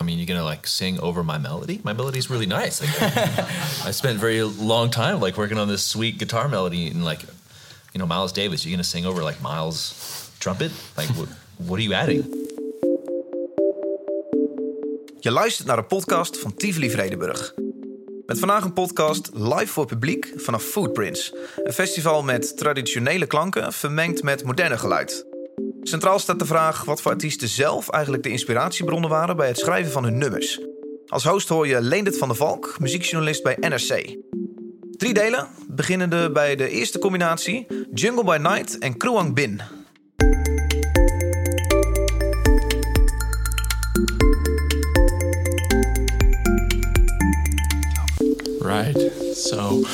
I mean, you're going to like sing over my melody? My melody's really nice. Like, I spent a very long time like working on this sweet guitar melody and like, you know, Miles Davis, you're going to sing over like Miles' trumpet? Like, what are you adding? Je luistert naar de podcast van Tivoli Vredenburg. Met vandaag een podcast live voor publiek vanaf Footprints. Een festival met traditionele klanken vermengd met moderne geluid. Centraal staat de vraag wat voor artiesten zelf eigenlijk de inspiratiebronnen waren bij het schrijven van hun nummers. Als host hoor je Leendert van der Valk, muziekjournalist bij NRC. 3 delen, beginnende bij de eerste combinatie Jungle by Night en Kruang Bin. Right. So,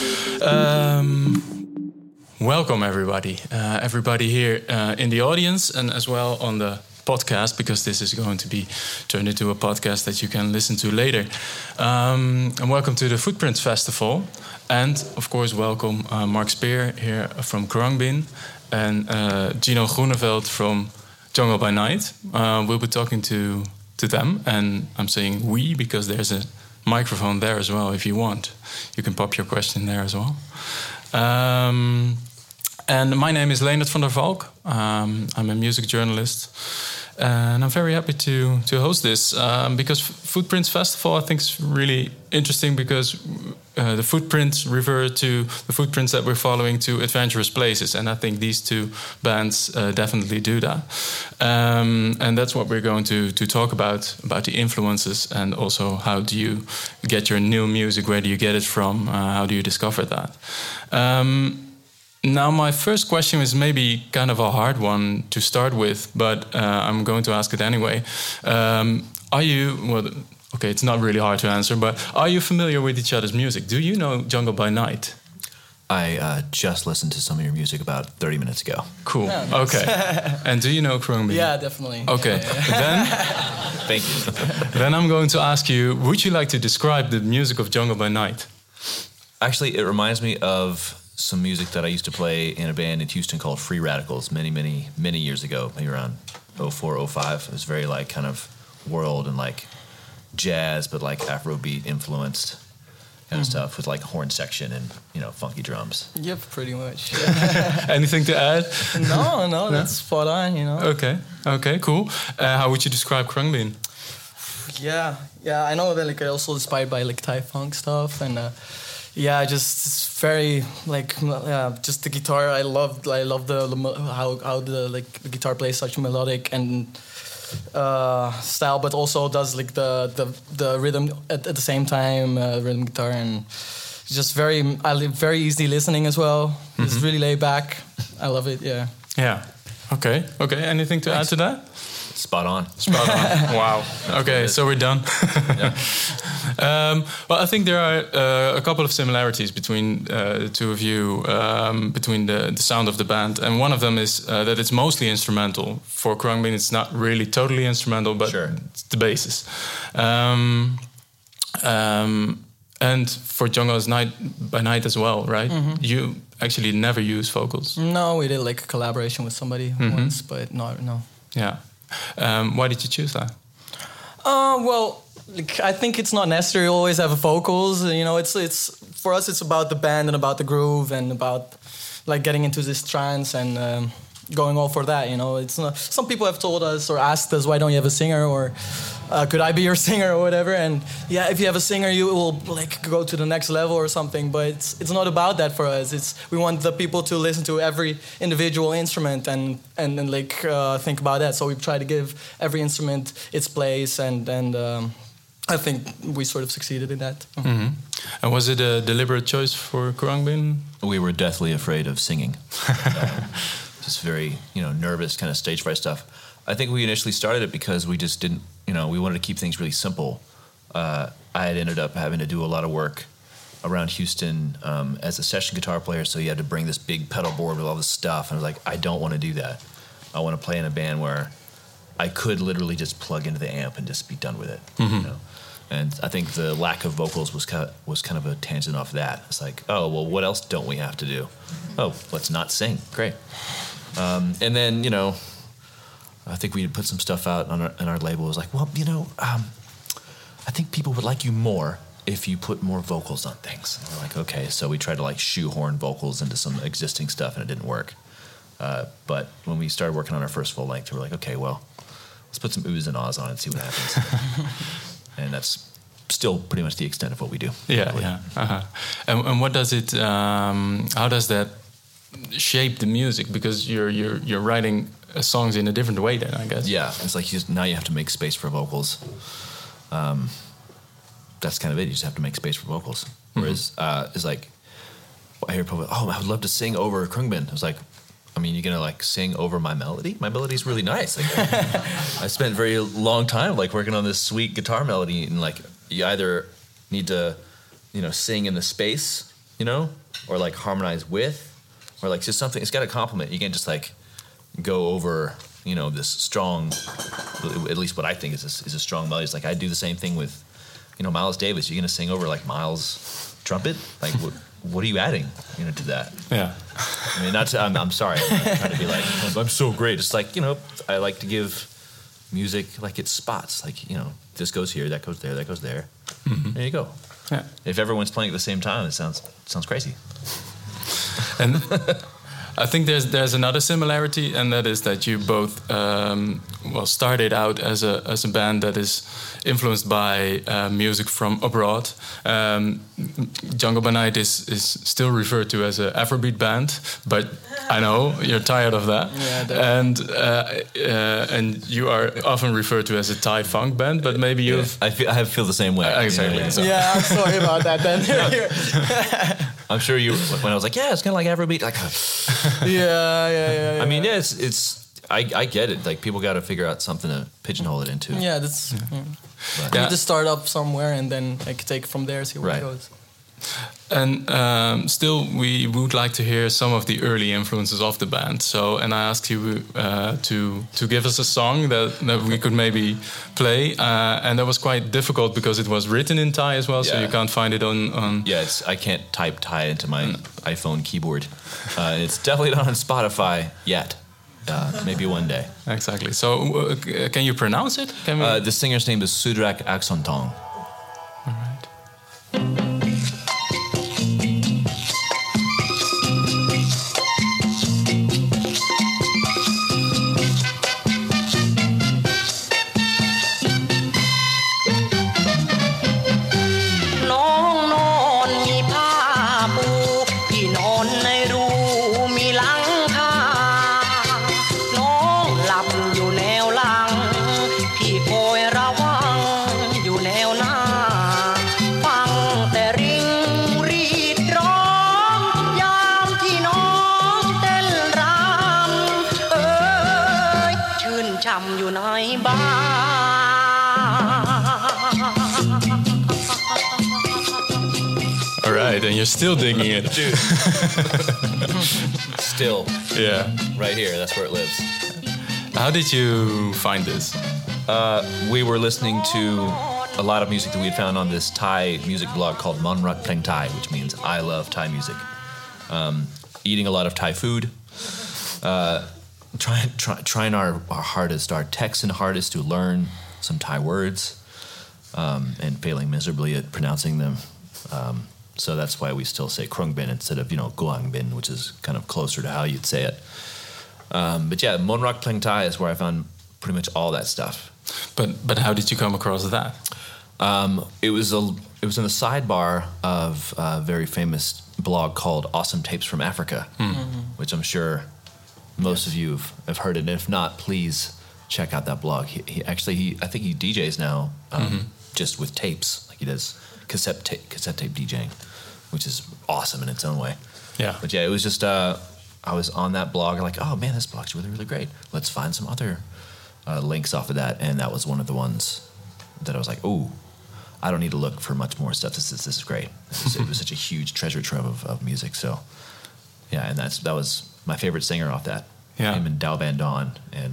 welcome everybody. Everybody here in the audience and as well on the podcast, because this is going to be turned into a podcast that you can listen to later. And welcome to the Footprints Festival. And of course, welcome Mark Speer here from Kruang Bin and Gino Groeneveld from Jungle by Night. We'll be talking to them, and I'm saying we because there's a microphone there as well if you want. You can pop your question there as well. And my name is Leendert van der Valk. I'm a music journalist. And I'm very happy to host this because Footprints Festival I think is really interesting because the footprints refer to the footprints that we're following to adventurous places. And I think these two bands definitely do that. And that's what we're going to talk about the influences and also how do you get your new music, where do you get it from, how do you discover that. Now, my first question is maybe kind of a hard one to start with, but I'm going to ask it anyway. Are you, well, okay, it's not really hard to answer, but are you familiar with each other's music? Do you know Jungle by Night? I just listened to some of your music about 30 minutes ago. Cool. Yeah, nice. Okay. And do you know Kruang Bin? Yeah, definitely. Okay. Yeah. Then, thank you. Then I'm going to ask you, would you like to describe the music of Jungle by Night? Actually, it reminds me of some music that I used to play in a band in Houston called Free Radicals many years ago, maybe around 04, 05. It was very like kind of world and like jazz, but like Afrobeat influenced kind of stuff with like horn section and, you know, funky drums. Yep, pretty much. Yeah. Anything to add? No, that's spot on, you know. Okay, cool. How would you describe Kruang Bin? Yeah, I know that like also inspired by like Thai funk stuff and yeah, just it's very like just the guitar. I love the how the guitar plays such a melodic and style, but also does like the rhythm at the same time, rhythm guitar, and just very easy listening as well. Mm-hmm. It's really laid back. I love it. Yeah. Okay. Anything to add to that? Spot on. Wow. Okay, so we're done. Well, I think there are a couple of similarities between the two of you, between the sound of the band. And one of them is that it's mostly instrumental. For Kruang Bin, it's not really totally instrumental, but sure. It's the basis. And for Jungle by Night as well, right? Mm-hmm. You actually never use vocals. No, we did like a collaboration with somebody once, but no. Yeah. Why did you choose that? Well, like, I think it's not necessary to always have vocals. You know, it's for us. It's about the band and about the groove and about like getting into this trance and going all for that. You know, it's not. Some people have told us or asked us, "Why don't you have a singer?" or "Could I be your singer?" or whatever. And yeah, if you have a singer, you will like go to the next level or something. But it's not about that for us. We want the people to listen to every individual instrument and like think about that. So we try to give every instrument its place and I think we sort of succeeded in that. Mm-hmm. And was it a deliberate choice for Kruang Bin? We were deathly afraid of singing. Just very, nervous kind of stage fright stuff. I think we initially started it because we just didn't, we wanted to keep things really simple. I had ended up having to do a lot of work around Houston as a session guitar player, so you had to bring this big pedal board with all this stuff. And I was like, I don't want to do that. I want to play in a band where I could literally just plug into the amp and just be done with it. Mm-hmm. And I think the lack of vocals was kind of a tangent off that. It's like, oh, well, what else don't we have to do? Oh, let's not sing. Great. And then, I think we put some stuff out on our label. It was like, well, I think people would like you more if you put more vocals on things. And we're like, okay. So we tried to like shoehorn vocals into some existing stuff, and it didn't work. But when we started working on our first full length, we were like, okay, well, let's put some oohs and ahs on it and see what happens. And that's still pretty much the extent of what we do. Yeah, yeah. Uh-huh. And what does it? How does that shape the music? Because you're writing songs in a different way then, I guess. Yeah, it's like now you have to make space for vocals. That's kind of it. You just have to make space for vocals. Whereas it's like, I hear people, I would love to sing over Krungbin. I was like, I mean, you're gonna like sing over my melody? My melody's really nice. Like, I spent a very long time like working on this sweet guitar melody, and like you either need to, sing in the space, or like harmonize with, or like just something. It's got to complement. You can't just like go over, this strong. At least what I think is a strong melody. It's like I do the same thing with, Miles Davis. You're gonna sing over like Miles' trumpet, like. What are you adding, to that? Yeah. I mean, I'm sorry. I'm not trying to be like, I'm so great. It's like, I like to give music like its spots. Like, this goes here, that goes there, that goes there. Mm-hmm. There you go. Yeah. If everyone's playing at the same time, it sounds crazy. And I think there's another similarity, and that is that you both started out as a band that is influenced by music from abroad. Jungle by Night is still referred to as an Afrobeat band, but I know you're tired of that. Yeah, and you are often referred to as a Thai funk band, but maybe you've... I feel the same way. Exactly. Yeah, I'm sorry about that then. I'm sure you, when I was like, it's kind of like Afrobeat, like... Yeah. I mean, I get it. Like, people got to figure out something to pigeonhole it into. Yeah, that's... You need to start up somewhere and then take it from there, see where it goes. And still, we would like to hear some of the early influences of the band. So, and I asked you to give us a song that we could maybe play. And that was quite difficult because it was written in Thai as well, so you can't find it on... Yeah, I can't type Thai into my iPhone keyboard. It's definitely not on Spotify yet. Maybe one day. Exactly. So, can you pronounce it? The singer's name is Sudrak Aksontong. All right. อยู่ในบ้าน All right, and you're still digging it. Dude. Still. Yeah. Right here, that's where it lives. How did you find this? We were listening to a lot of music that we had found on this Thai music blog called Monrak Pleng Thai, which means I love Thai music. Eating a lot of Thai food. Trying our hardest, our Texan hardest to learn some Thai words, and failing miserably at pronouncing them. So that's why we still say Krungbin instead of, Guangbin, which is kind of closer to how you'd say it. But yeah, Monrak Pleng Thai is where I found pretty much all that stuff. But how did you come across that? It was in the sidebar of a very famous blog called Awesome Tapes from Africa, which I'm sure most of you have heard it. And if not, please check out that blog. I think he DJs now, just with tapes. Like he does cassette tape DJing, which is awesome in its own way. Yeah. But yeah, it was just I was on that blog like, oh man, this blog's really, really great. Let's find some other links off of that, and that was one of the ones that I was like, ooh, I don't need to look for much more stuff. This is great. It was such a huge treasure trove of music. So yeah, and that was my favorite singer off that. Yeah. Him and Dao Van Dawn and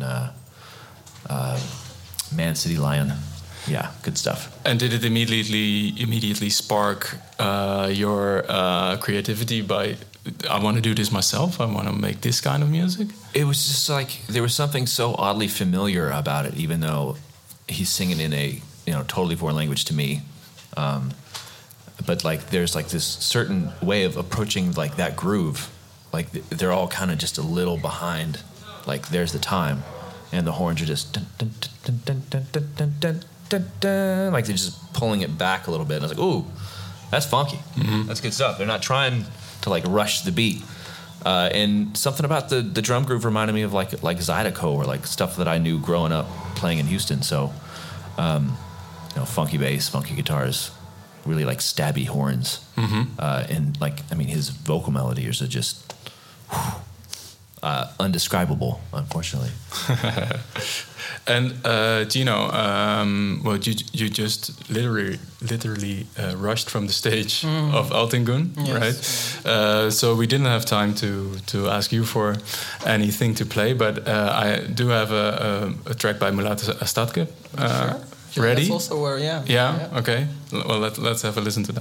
Man City Lion. Yeah, good stuff. And did it immediately spark your creativity by, I want to do this myself, I want to make this kind of music? It was just like, there was something so oddly familiar about it, even though he's singing in a totally foreign language to me. But like there's like this certain way of approaching like that groove. Like they're all kind of just a little behind. Like there's the time, and the horns are just dun, dun, dun, dun, dun, dun, dun, dun, dun, dun. Like they're just pulling it back a little bit. And I was like, ooh, that's funky. Mm-hmm. That's good stuff. They're not trying to like rush the beat. And something about the drum groove reminded me of like Zydeco or like stuff that I knew growing up playing in Houston. So, funky bass, funky guitars, really like stabby horns, and like his vocal melodies are just undescribable, unfortunately. And Gino, you just literally rushed from the stage of Altingun, yes. Right? So we didn't have time to ask you for anything to play, but I do have a track by Mulato Ostatke. Sure. Ready? That's also where, Yeah. Okay. Well, let's have a listen to that.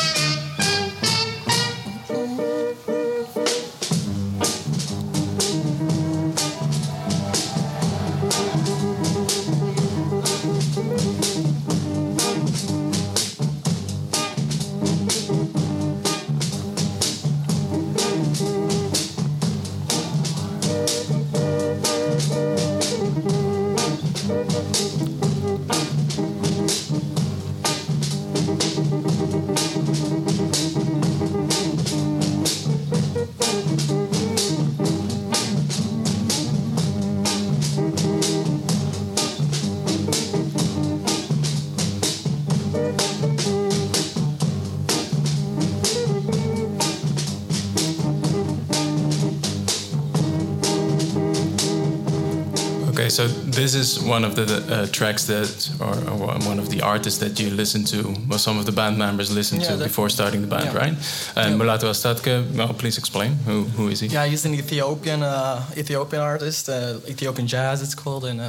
So this is one of the tracks or one of the artists that you listen to, well, some of the band members listened to before starting the band, right? And Mulato Ostatke, well, please explain. Who is he? Yeah, he's an Ethiopian artist, Ethiopian jazz it's called. And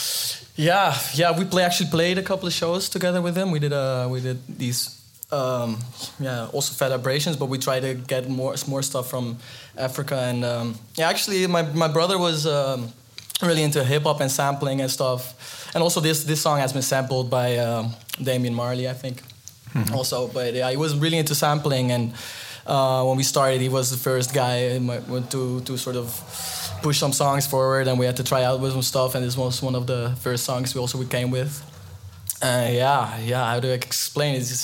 we actually played a couple of shows together with him. We did these also Fedibrations, but we try to get more stuff from Africa. And actually my brother was really into hip hop and sampling and stuff, and also this song has been sampled by Damian Marley, I think, also. But he was really into sampling, and when we started, he was the first guy to sort of push some songs forward, and we had to try out with some stuff. And this was one of the first songs we came with. How do I explain it?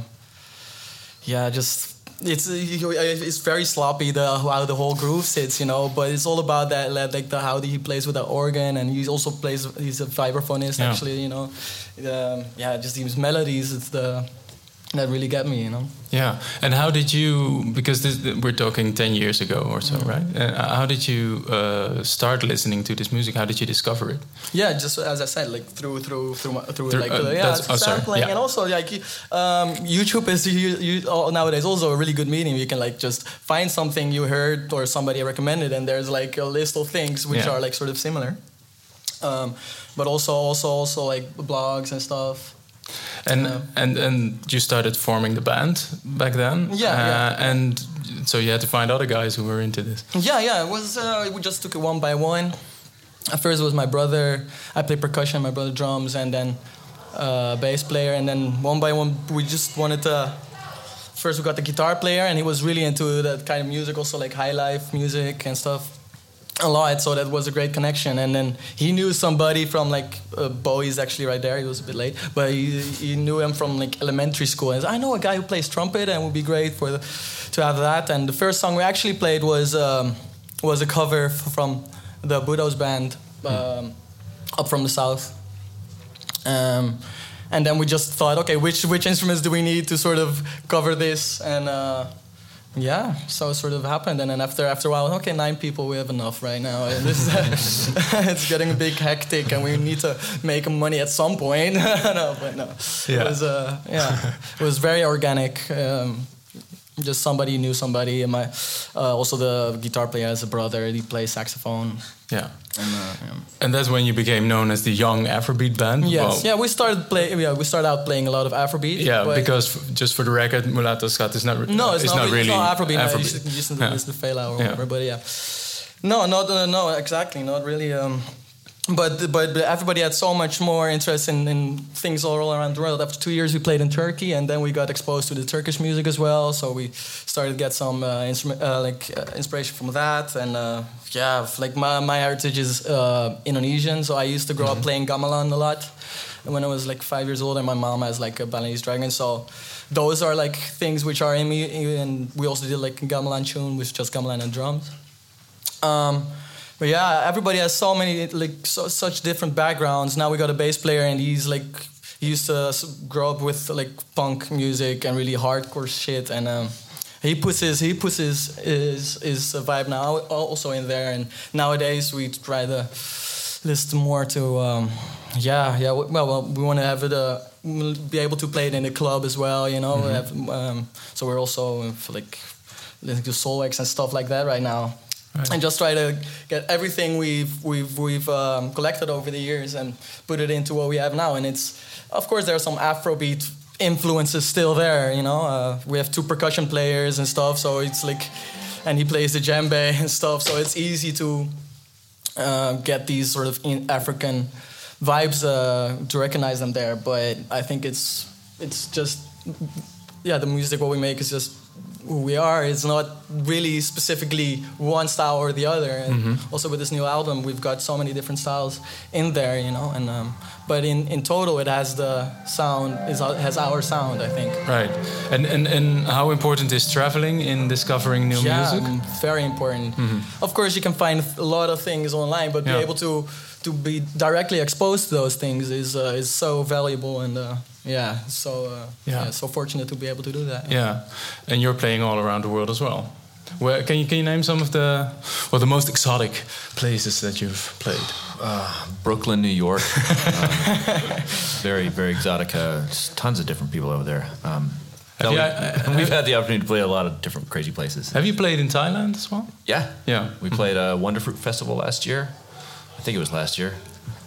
It's very sloppy how the whole groove sits, but it's all about that, like how he plays with the organ, and he also he's a vibraphonist actually, just these melodies, it's that really get me, Yeah, and how did you? Because we're talking 10 years ago or so, right? How did you start listening to this music? How did you discover it? Yeah, just as I said, like through sampling, and also like YouTube is nowadays also a really good medium. You can like just find something you heard or somebody recommended, and there's like a list of things which are like sort of similar, but also like blogs and stuff. And you started forming the band back then, and so you had to find other guys who were into this. It was we just took it one by one. At first it was my brother. I played percussion, my brother drums, and then bass player. And then one by one we just wanted to. First we got the guitar player, and he was really into that kind of music, also like high life music and stuff. A lot, so that was a great connection. And then he knew somebody from like Bowie's actually right there. He was a bit late, but he knew him from like elementary school. And I know a guy who plays trumpet, and it would be great to have that. And the first song we actually played was a cover from the Budos band up from the south. And then we just thought, okay, which instruments do we need to sort of cover this? And so it sort of happened, and then after a while, okay, 9 people, we have enough right now, and this is, it's getting a bit hectic, and we need to make money at some point. It was very organic. Just somebody knew somebody, and also the guitar player has a brother. He plays saxophone. Yeah. And that's when you became known as the Young Afrobeat Band. Yes. Well, we started out playing a lot of Afrobeat. Yeah, because just for the record, Mulato Ostatke is not. No, it's not really Afrobeat. Afrobeat. You just listen to Fela or whatever. But no, exactly, not really. but everybody had so much more interest in things all around the world. After 2 years, we played in Turkey, and then we got exposed to the Turkish music as well. So we started to get some inspiration from that. And like my heritage is Indonesian, so I used to grow up playing gamelan a lot. And when I was like 5 years old, and my mom has like a Balinese dragon, so those are like things which are in me. And we also did like a gamelan tune with just gamelan and drums. But yeah, everybody has so many such different backgrounds. Now we got a bass player, and he used to grow up with like punk music and really hardcore shit, and he puts his vibe now also in there. And nowadays we try to listen more to well we want to have it be able to play it in the club as well, you know. So we're also like listening to Soulwax and stuff like that right now. Right. And just try to get everything we've collected over the years and put it into what we have now. And it's, of course, there are some Afrobeat influences still there, you know. We have 2 percussion players and stuff, so it's like, and he plays the djembe and stuff, so it's easy to get these sort of African vibes to recognize them there. But I think it's just, the music what we make is just who we are. It's not really specifically one style or the other. And also with this new album, we've got so many different styles in there, you know. And but in total, it has the sound, has our sound, I think. Right. And how important is traveling in discovering new music? Very important. Of course, you can find a lot of things online, but be able to be directly exposed to those things is so valuable. And so fortunate to be able to do that. Yeah, and you're playing all around the world as well. Where can you name some of the most exotic places that you've played? Brooklyn, New York. Very, very exotic. Tons of different people over there. We've had the opportunity to play a lot of different crazy places. Have you played in Thailand as well? Yeah. We played Wonderfruit Festival last year. I think it was last year.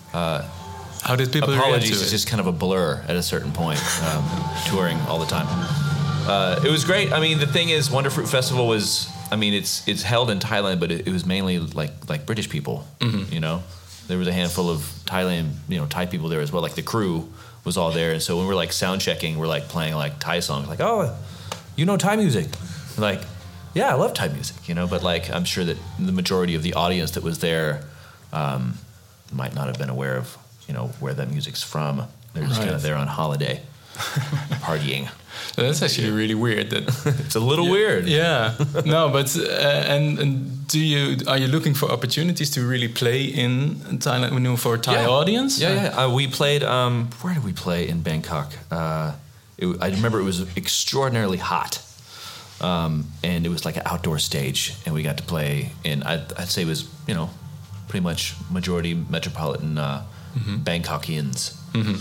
How did people react to it? Apologies, it's just kind of a blur at a certain point, touring all the time. It was great. I mean, the thing is, Wonderfruit Festival was, I mean, it's held in Thailand, but it was mainly like British people, you know? There was a handful of Thai people there as well. Like the crew was all there. And so when we're like sound checking, we're like playing like Thai songs. Like, oh, you know Thai music? Like, yeah, I love Thai music, you know? But like, I'm sure that the majority of the audience that was there might not have been aware of, you know, where that music's from. They're just kind of there on holiday, partying. That's actually really weird. That it's a little weird. Yeah. No, but and are you looking for opportunities to really play in Thailand for a Thai audience? Yeah. We played. Where did we play in Bangkok? I remember it was extraordinarily hot, and it was like an outdoor stage, and we got to play in. I'd say it was, you know, pretty much majority metropolitan Bangkokians.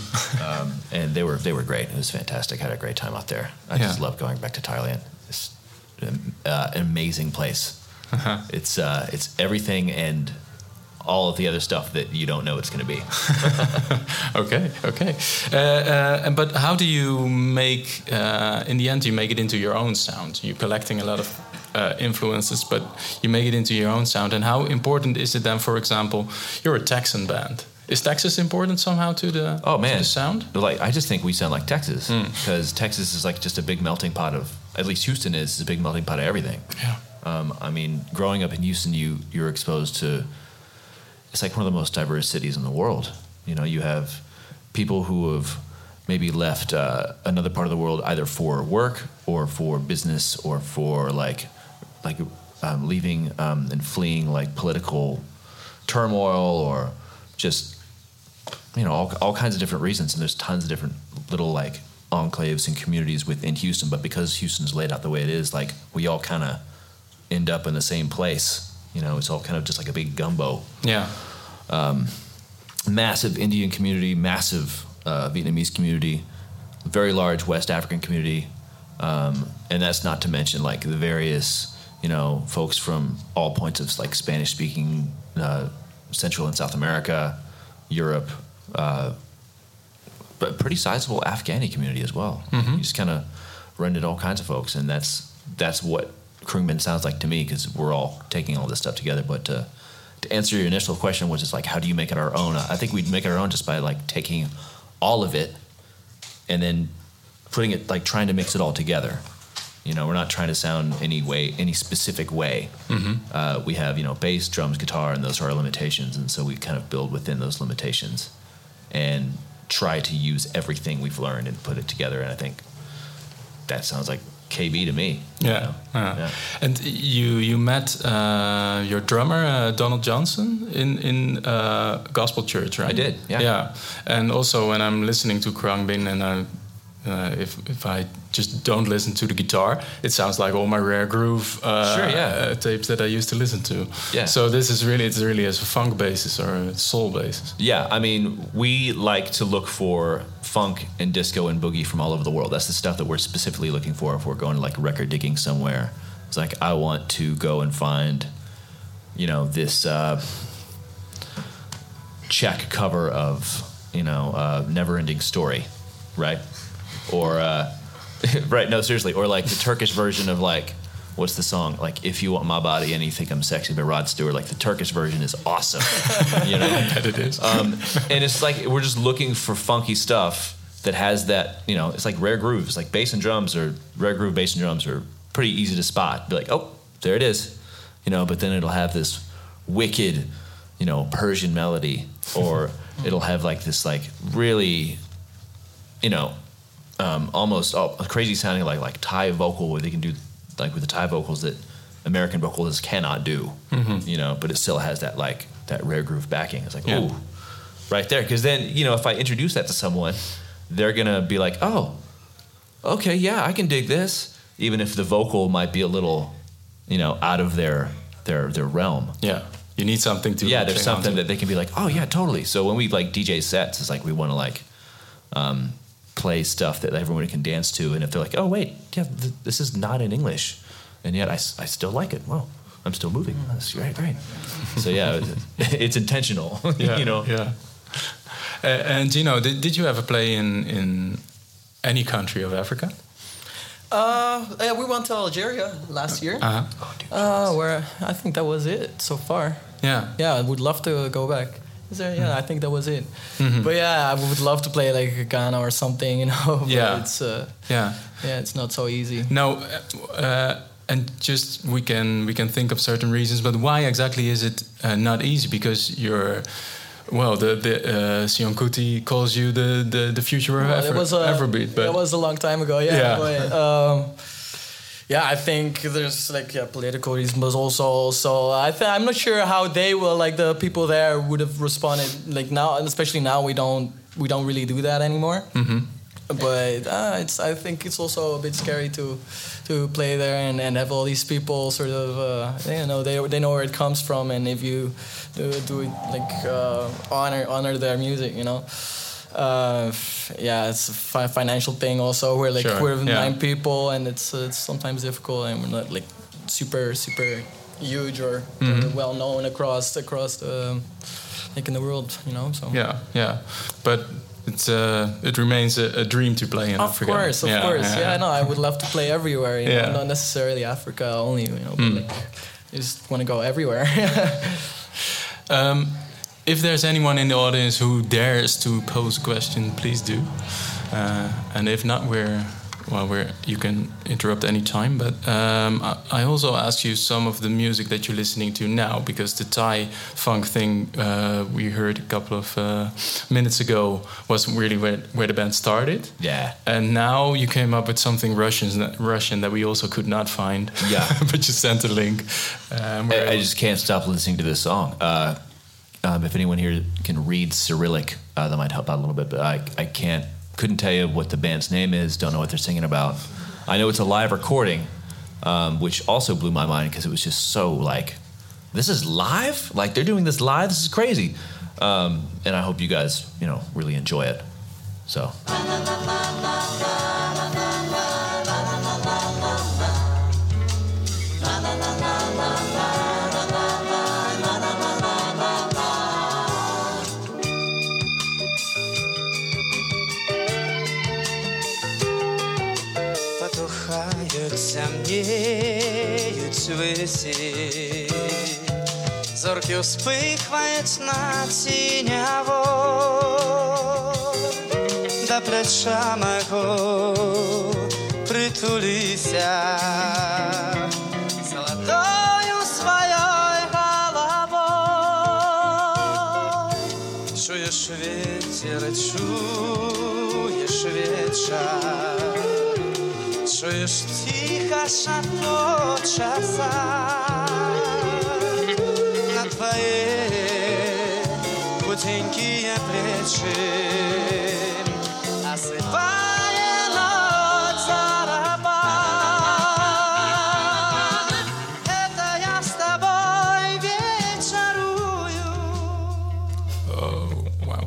And they were great. It was fantastic. I had a great time out there. I just love going back to Thailand. It's an amazing place. It's everything and all of the other stuff that you don't know it's going to be. Okay. But how do you make, in the end, you make it into your own sound? You're collecting a lot of influences, but you make it into your own sound. And how important is it then, for example, you're a Texan band? Is Texas important somehow to the to the sound? Like, I just think we sound like Texas, because Texas is like just a big melting pot of, at least Houston is a big melting pot of everything. Yeah. I mean, growing up in Houston, you're exposed to, it's like one of the most diverse cities in the world. You know, you have people who have maybe left another part of the world either for work or for business or for leaving and fleeing like political turmoil or just, you know, all kinds of different reasons. And there's tons of different little like enclaves and communities within Houston. But because Houston's laid out the way it is, like we all kind of end up in the same place. You know, it's all kind of just like a big gumbo. Yeah. Massive Indian community, massive Vietnamese community, very large West African community. And that's not to mention like the various, you know, folks from all points of like Spanish speaking, Central and South America, Europe, but pretty sizable Afghani community as well. You just kind of run into all kinds of folks, and that's what Khruangbin sounds like to me, because we're all taking all this stuff together. But to answer your initial question, which is like, how do you make it our own? I think we'd make it our own just by like taking all of it and then putting it, like trying to mix it all together. You know, we're not trying to sound any specific way. We have, you know, bass, drums, guitar, and those are our limitations. And so we kind of build within those limitations and try to use everything we've learned and put it together. And I think that sounds like KB to me. Yeah. Yeah. And you met your drummer, Donald Johnson, in Gospel Church, right? I did, yeah. Yeah. And also when I'm listening to Khruangbin and if I just don't listen to the guitar, it sounds like all my Rare Groove tapes that I used to listen to. Yeah. So it's really as a funk basis or a soul basis. Yeah, I mean, we like to look for funk and disco and boogie from all over the world. That's the stuff that we're specifically looking for if we're going to like record digging somewhere. It's like, I want to go and find, you know, this Czech cover of, you know, Never Ending Story, right? Or right, no, seriously, or like the Turkish version of like, what's the song? Like, If You Want My Body and You Think I'm Sexy by Rod Stewart. Like the Turkish version is awesome. You know? That it is. And it's like we're just looking for funky stuff that has that, you know, it's like rare grooves. Like bass and drums or rare groove bass and drums are pretty easy to spot. Be like, oh, there it is. You know, but then it'll have this wicked, you know, Persian melody, or it'll have like this like really, you know, almost crazy sounding like Thai vocal, where they can do like with the Thai vocals that American vocalists cannot do, you know, but it still has that like that rare groove backing. It's like, ooh, right there. Because then, you know, if I introduce that to someone, they're gonna be like, oh, okay, yeah, I can dig this, even if the vocal might be a little, you know, out of their realm. Yeah, you need something to. Yeah, there's something that they can be like, oh yeah, totally. So when we like DJ sets, it's like we want to like play stuff that everyone can dance to, and if they're like, oh wait, yeah, this is not in English, and yet I still like it. Well, I'm still moving. That's great. So yeah, it's intentional. Yeah, you know. Yeah. And you know, did you ever play in any country of Africa? Yeah, we went to Algeria last year. Where I think that was it so far. Yeah, I would love to go back. Is there? Yeah, I think that was it. But yeah, I would love to play like Ghana or something, you know. But it's it's not so easy. No, and just we can think of certain reasons, but why exactly is it not easy? Because you're. Well, the Sion Kuti calls you the future of Afrobeat. But it was a long time ago, yeah. But, I think there's like political reasons, but also I'm not sure how they will, like the people there would have responded. Like now, and especially now, we don't really do that anymore. But I think it's also a bit scary to play there and have all these people sort of you know, they know where it comes from, and if you do it like honor their music, you know. It's a financial thing also. We're like we're 9 people, and it's sometimes difficult, and we're not like super huge or well known across the like in the world, you know. So but it remains a dream to play in Africa. Of course. Yeah, no, I would love to play everywhere. You know, not necessarily Africa only. You know, but like, I just want to go everywhere. If there's anyone in the audience who dares to pose a question, please do. And if not, you can interrupt any time. But I also ask you some of the music that you're listening to now, because the Thai funk thing we heard a couple of minutes ago wasn't really where the band started. Yeah. And now you came up with something Russian that we also could not find. Yeah. But you sent a link. I just can't stop listening to this song. If anyone here can read Cyrillic, that might help out a little bit. But I couldn't tell you what the band's name is. Don't know what they're singing about. I know it's a live recording, which also blew my mind because it was just so like, this is live? Like they're doing this live? This is crazy. And I hope you guys, you know, really enjoy it. So. Samnieють свисі, зорки успихвають на тіняво, до плеча мого притулися золотою своєю головою. Чуєш ветер, чуєш вечер, чуєш тихо шепочется на твои худенькие плечи, осыпая ночь за раба. Это я с тобой вечерую. Oh, wow.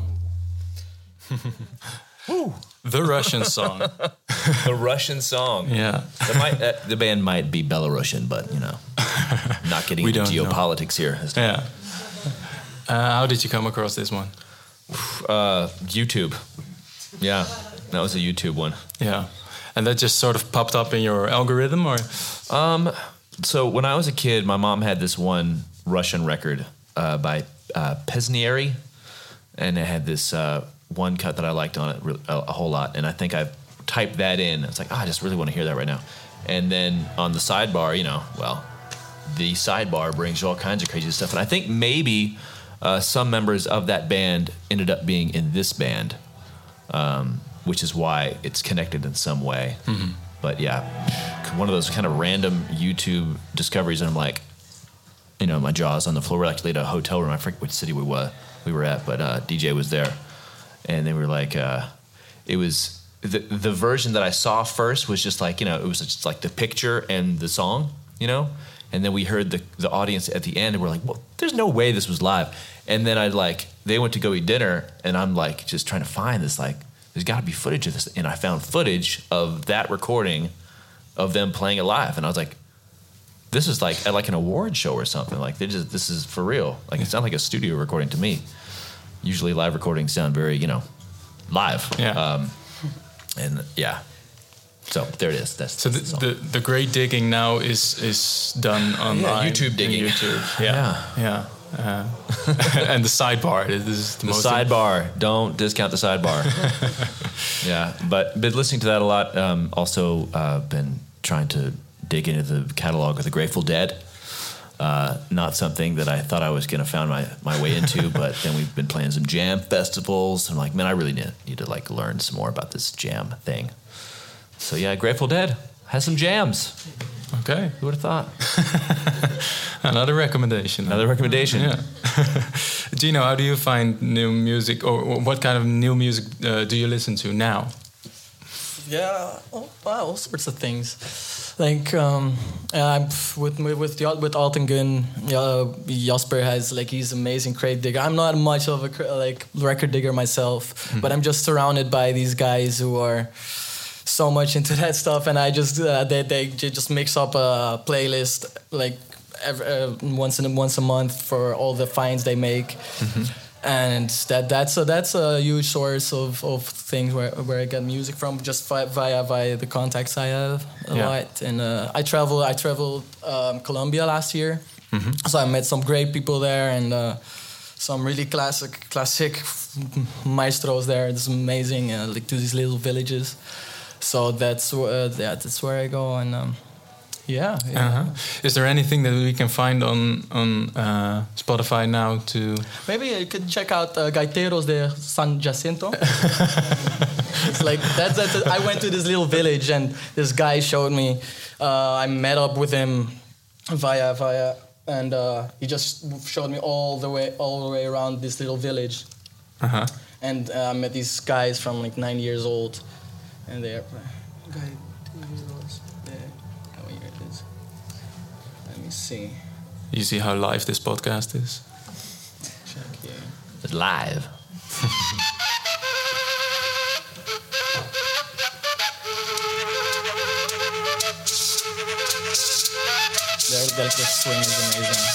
The Russian song. A Russian song. Yeah. The band might be Belarusian, but, you know, not getting We into don't know. geopolitics here. Yeah. How did you come across this one? YouTube. Yeah, that was a YouTube one. Yeah. And that just sort of popped up in your algorithm, or? So when I was a kid, my mom had this one Russian record by Pesnieri, and it had this one cut that I liked on it a whole lot, and I think I typed that in. It's like, I just really want to hear that right now. And then on the sidebar, you know, well, the sidebar brings you all kinds of crazy stuff, and I think maybe some members of that band ended up being in this band, which is why it's connected in some way. Mm-hmm. But yeah, one of those kind of random YouTube discoveries, and I'm like, you know, my jaw's on the floor. We're actually at a hotel room. I forget which city we were at, but DJ was there, and they were like, it was the version that I saw first was just like, you know, it was just like the picture and the song, you know, and then we heard the audience at the end, and we're like, well, there's no way this was live. And then they went to go eat dinner, and I'm like just trying to find this, like, there's got to be footage of this, and I found footage of that recording of them playing it live, and I was like, this is like at like an award show or something. Like this is for real. Like it sounded like a studio recording to me. Usually live recordings sound very, you know, live. Yeah. And yeah. So there it is. That's so the great digging now is done online. Yeah, YouTube digging. YouTube. Yeah. And the sidebar. This is the most sidebar. Don't discount the sidebar. Yeah, but been listening to that a lot. Also been trying to dig into the catalog of the Grateful Dead. Not something that I thought I was going to find my way into, but then we've been playing some jam festivals. I'm like, man, I really need to like learn some more about this jam thing. So yeah, Grateful Dead has some jams. Okay. Who would have thought? Another recommendation. Yeah. Gino, how do you find new music, or what kind of new music do you listen to now? Yeah, all sorts of things. Like with Altengun, Jasper has he's an amazing crate digger. I'm not much of a record digger myself, but I'm just surrounded by these guys who are so much into that stuff, and I just they just mix up a playlist once a month for all the finds they make. Mm-hmm. And that's a huge source of things where I get music from, just via the contacts I have a lot. And I traveled Colombia last year, mm-hmm. So I met some great people there, and some really classic maestros there. It's amazing, to these little villages. So that's where I go, and yeah. Uh-huh. Is there anything that we can find on Spotify now to? Maybe you could check out Gaiteros de San Jacinto. It's like that's I went to this little village, and this guy showed me. I met up with him via, and he just showed me all the way around this little village. Uh-huh. And I met these guys from 9 years old, and they're guy 2 years old. Let me see. You see how live this podcast is? Check here. It's live. Their swing is amazing.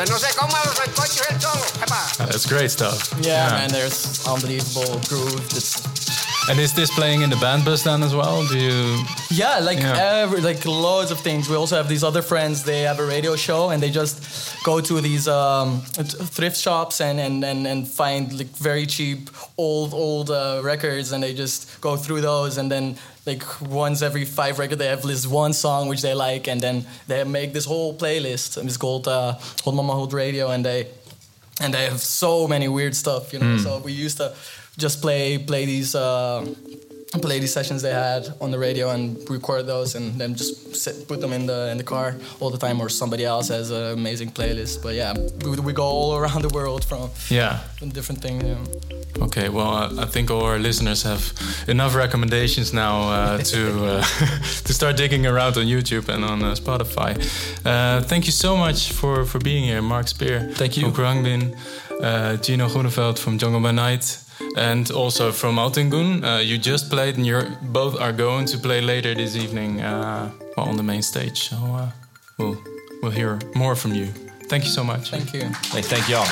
No sé cómo los sancochos el solo. That's great stuff. Yeah, man, there's unbelievable groove. And is this playing in the band bus then as well? Do you? Yeah, like loads of things. We also have these other friends. They have a radio show, and they just go to these thrift shops and find like very cheap old records, and they just go through those, and then like once every 5 records they have this one song which they like, and then they make this whole playlist. It's called Hot Mama Hot Radio, and they have so many weird stuff, you know. So we used to just play these sessions they had on the radio and record those, and then just put them in the car all the time, or somebody else has an amazing playlist. But yeah, we go all around the world from different things. Yeah. Okay, well, I think all our listeners have enough recommendations now to start digging around on YouTube and on Spotify. Thank you so much for being here, Mark Speer. Thank you. From Khruangbin, Gino Groeneveld from Jungle by Night, and also from Altingun. You just played, and you both are going to play later this evening on the main stage. So we'll hear more from you. Thank you so much. Thank you. Thank y'all.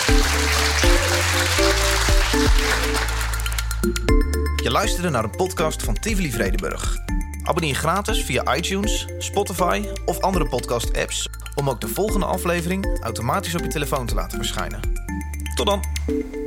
Je luisterde naar een podcast van Tivoli Vredenburg. Abonneer gratis via iTunes, Spotify of andere podcast-apps om ook de volgende aflevering automatisch op je telefoon te laten verschijnen. Tot dan!